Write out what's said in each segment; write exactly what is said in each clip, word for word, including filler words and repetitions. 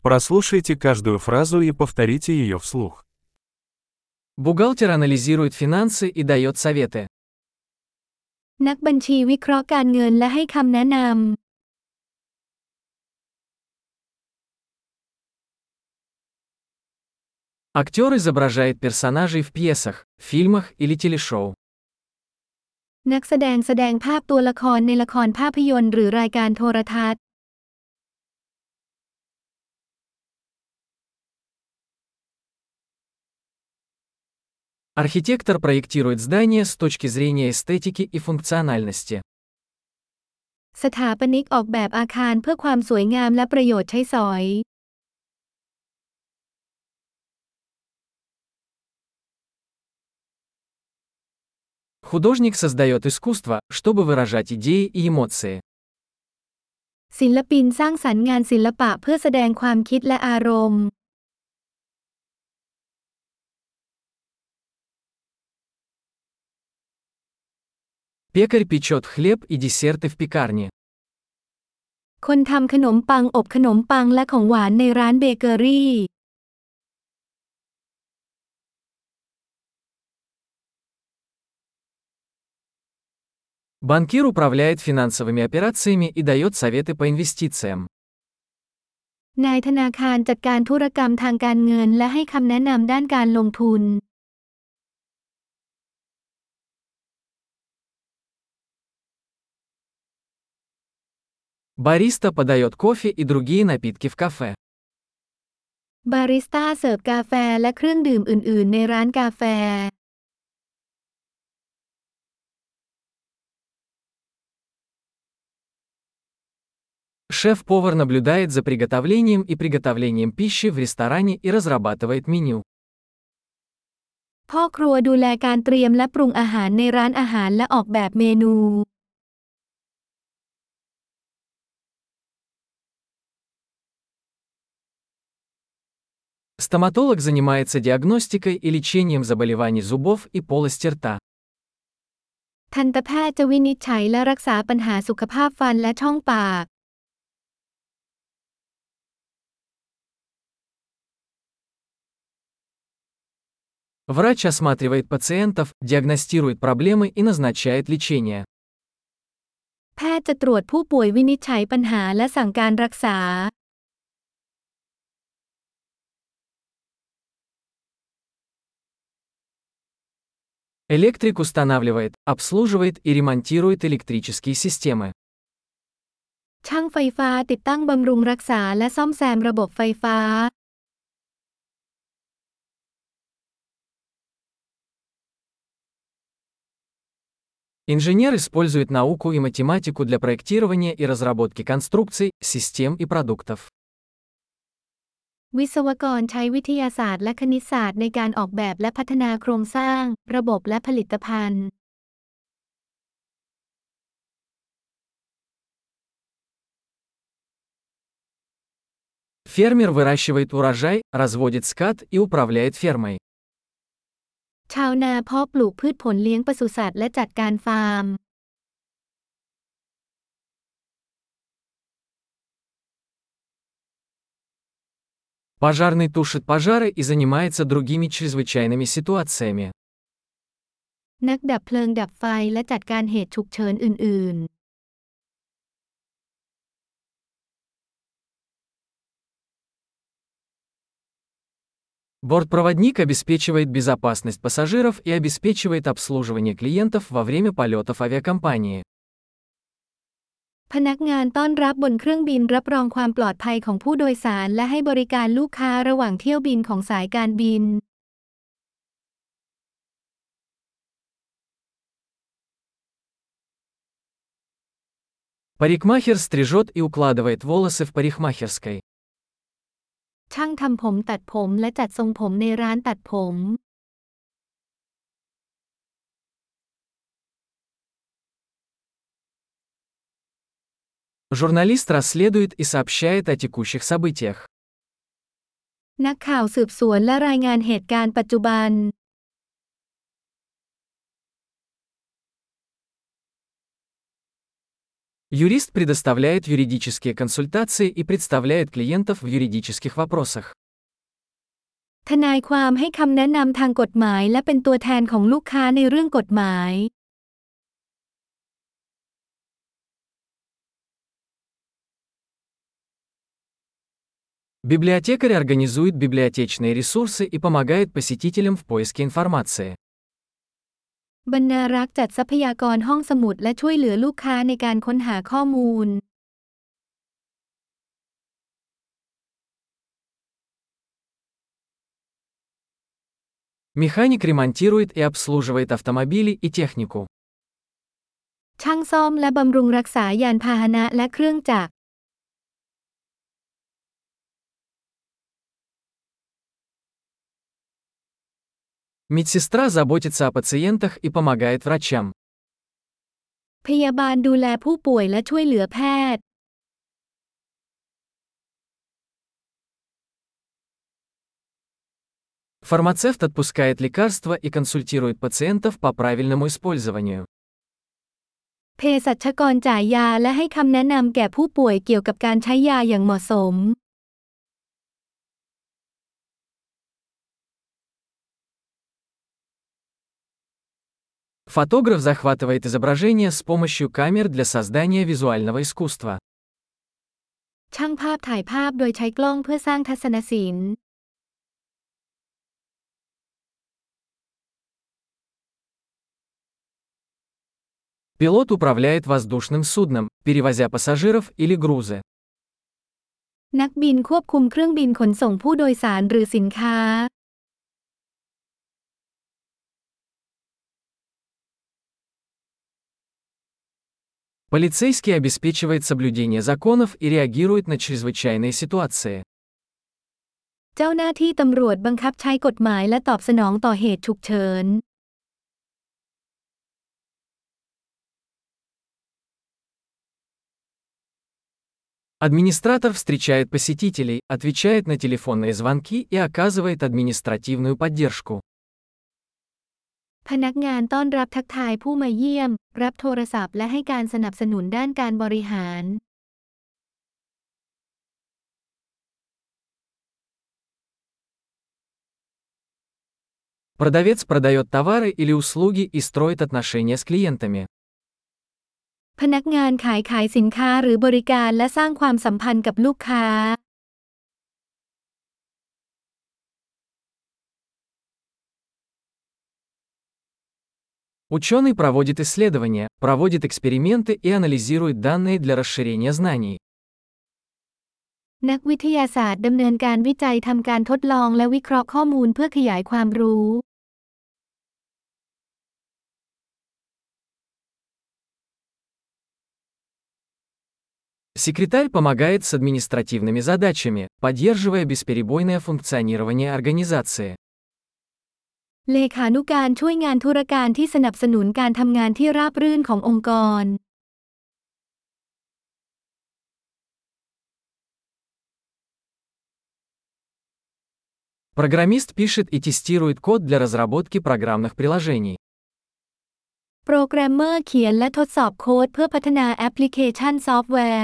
Прослушайте каждую фразу и повторите ее вслух. Бухгалтер анализирует финансы и дает советы. นักบัญชีวิเคราะห์การเงินและให้คำแนะนำ Актер изображает персонажей в пьесах, фильмах или телешоу. นักแสดงแสดงภาพตัวละครในละครภาพยนตร์หรือรายการโทรทัศน์ Архитектор проектирует здание с точки зрения эстетики и функциональности. สถาปนิกออกแบบอาคารเพื่อความสวยงามและประโยชน์ใช้สอย Художник создает искусство, чтобы выражать идеи и эмоции. ศิลปินสร้างสรรค์งานศิลปะเพื่อแสดงความคิดและอารมณ์ Пекарь печет хлеб и десерты в пекарне. คนทำขนมปังอบขนมปังและของหวานในร้านเบเกอรี่ Банкир управляет финансовыми операциями и дает советы по инвестициям. นายธนาคารจัดการธุรกรรมทางการเงินและให้คำแนะนำด้านการลงทุน Бариста подает кофе и другие напитки в кафе. บาริสต้าเสิร์ฟกาแฟและเครื่องดื่มอื่นๆในร้านกาแฟ Шеф-повар наблюдает за приготовлением и приготовлением пищи в ресторане и разрабатывает меню. พ่อครัวดูแลการเตรียมและปรุงอาหารในร้านอาหารและออกแบบเมนู Стоматолог занимается диагностикой и лечением заболеваний зубов и полости рта. ทันตแพทย์จะวินิจฉัยและรักษาปัญหาสุขภาพฟันและช่องปาก Врач осматривает пациентов, диагностирует проблемы и назначает лечение. แพทย์จะตรวจผู้ป่วยวินิจฉัยปัญหาและสั่งการรักษา Электрик устанавливает, обслуживает и ремонтирует электрические системы. ช่างไฟฟ้าติดตั้งบำรุงรักษาและซ่อมแซมระบบไฟฟ้า Инженер использует науку и математику для проектирования и разработки конструкций, систем и продуктов. วิศวกรใช้วิทยาศาสตร์และคณิตศาสตร์ในการออกแบบและพัฒนาโครงสร้าง ระบบและผลิตภัณฑ์ Фермер выращивает урожай, разводит скот и управляет фермой. ชาวนาเพาะปลูกพืชผลเลี้ยงปศุสัตว์และจัดการฟาร์ม Пожарный тушит пожары и занимается другими чрезвычайными ситуациями. นักดับเพลิงดับไฟและจัดการเหตุฉุกเฉินอื่น ๆ Бортпроводник обеспечивает безопасность пассажиров и обеспечивает обслуживание клиентов во время полетов авиакомпании. พนักงานต้อนรับบนเครื่องบินรับรองความปลอดภัยของผู้โดยสารและให้บริการลูกค้าระหว่างเที่ยวบินของสายการบิน Парикмахер стрижет и укладывает волосы в парикмахерской. ช่างทำผมตัดผมและจัดทรงผมในร้านตัดผม Журналист расследует и сообщает о текущих событиях. นักข่าวสืบสวนและรายงานเหตุการณ์ปัจจุบัน Юрист предоставляет юридические консультации и представляет клиентов в юридических вопросах. ทนายความให้คำแนะนำทางกฎหมายและเป็นตัวแทนของลูกค้าในเรื่องกฎหมาย Библиотекарь организует библиотечные ресурсы и помогает посетителям в поиске информации. บรรณารักษ์จัดทรัพยากรห้องสมุดและช่วยเหลือลูกค้าในการค้นหาข้อมูล Механик ремонтирует и обслуживает автомобили и технику. ช่างซ่อมและบำรุงรักษายานพาหนะและเครื่องจักร Медсестра заботится о пациентах и помогает врачам. พยาบาลดูแลผู้ป่วยและช่วยเหลือแพทย์ Фармацевт отпускает лекарства и консультирует пациентов по правильному использованию. เภสัชกรจ่ายยาและให้คำแนะนำแก่ผู้ป่วยเกี่ยวกับการใช้ยาอย่างเหมาะสม Фотограф захватывает изображение с помощью камер для создания визуального искусства. ช่างภาพถ่ายภาพโดยใช้กล้องเพื่อสร้างทัศนศิลป์ Пилот управляет воздушным судном, перевозя пассажиров или грузы. นักบินควบคุมเครื่องบินขนส่งผู้โดยสารหรือสินค้า Полицейский обеспечивает соблюдение законов и реагирует на чрезвычайные ситуации. เจ้าหน้าที่ตำรวจบังคับใช้กฎหมายและตอบสนองต่อเหตุฉุกเฉิน Администратор встречает посетителей, отвечает на телефонные звонки и оказывает административную поддержку. พนักงานต้อนรับทักทายผู้มาเยี่ยม รับโทรศัพท์และให้การสนับสนุนด้านการบริหาร Продавец продает товары или услуги и строит отношения с клиентами. พนักงานขายขายสินค้าหรือบริการและสร้างความสัมพันธ์กับลูกค้า Ученый проводит исследования, проводит эксперименты и анализирует данные для расширения знаний. นักวิทยาศาสตร์ดำเนินการวิจัยทำการทดลองและวิเคราะห์ข้อมูลเพื่อขยายความรู้ Секретарь помогает с административными задачами, поддерживая бесперебойное функционирование организации. เลขานุการช่วยงานธุรการที่สนับสนุนการทำงานที่ราบรื่นขององค์กร Программист пишет и тестирует код для разработки программных приложений. โปรแกรมเมอร์เขียนและทดสอบโค้ดเพื่อพัฒนาแอปพลิเคชันซอฟต์แวร์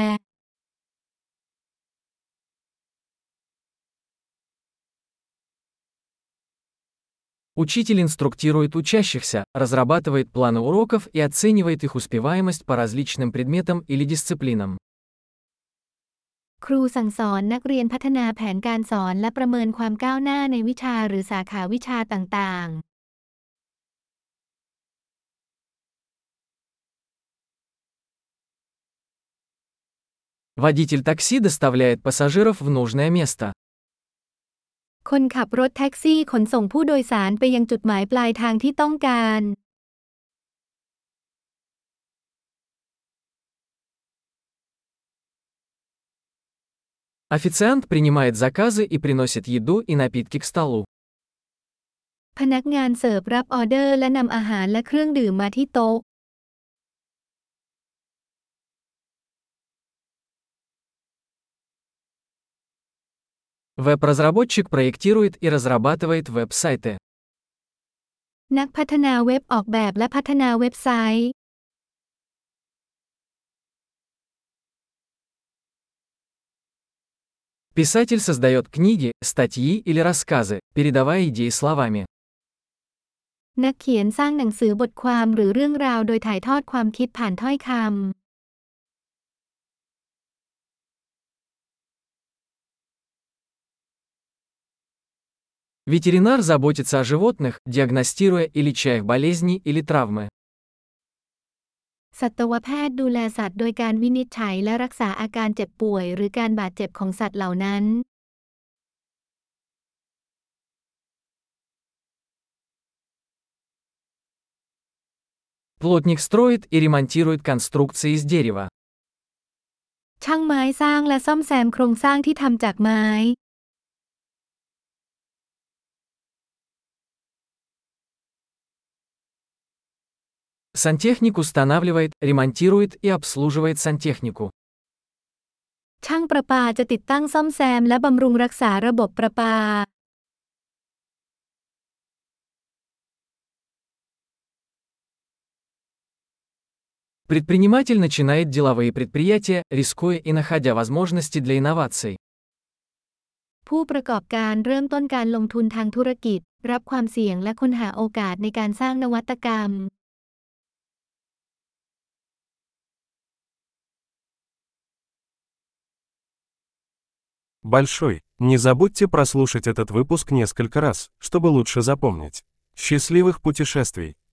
Учитель инструктирует учащихся, разрабатывает планы уроков и оценивает их успеваемость по различным предметам или дисциплинам. ครูสั่งสอนนักเรียนพัฒนาแผนการสอนและประเมินความก้าวหน้าในวิชาหรือสาขาวิชาต่างๆ Водитель такси доставляет пассажиров в нужное место. คนขับรถแท็กซี่ขนส่งผู้โดยสารไปยังจุดหมายปลายทางที่ต้องการ Официант принимает заказы и приносит еду и напитки к столу. พนักงานเสิร์ฟรับออเดอร์และนำอาหารและเครื่องดื่มมาที่โต๊ะ Веб-разработчик проектирует и разрабатывает веб-сайты. นักพัฒนาเว็บออกแบบและพัฒนาเว็บไซต์ Писатель создает книги, статьи или рассказы, передавая идеи словами. นักเขียนสร้างหนังสือบทความหรือเรื่องราวโดยถ่ายทอดความคิดผ่านถ้อยคำ Ветеринар заботится о животных, диагностируя и леча их болезни или травмы. สัตวแพทย์ดูแลสัตว์โดยการวินิจฉัยและรักษาอาการเจ็บป่วยหรือการบาดเจ็บของสัตว์เหล่านั้น Плотник строит и ремонтирует конструкции из дерева. ช่างไม้สร้างและซ่อมแซมโครงสร้างที่ทำจากไม้ Сантехник устанавливает, ремонтирует и обслуживает сантехнику. ช่างประปาจะติดตั้งซ่อมแซมและบำรุงรักษาระบบประปา Предприниматель начинает деловые предприятия, рискуя и находя возможности для инноваций. ผู้ประกอบการเริ่มต้นการลงทุนทางธุรกิจรับความเสี่ยงและค้นหาโอกาสในการสร้างนวัตกรรม Большой. Не забудьте прослушать этот выпуск несколько раз, чтобы лучше запомнить. Счастливых путешествий!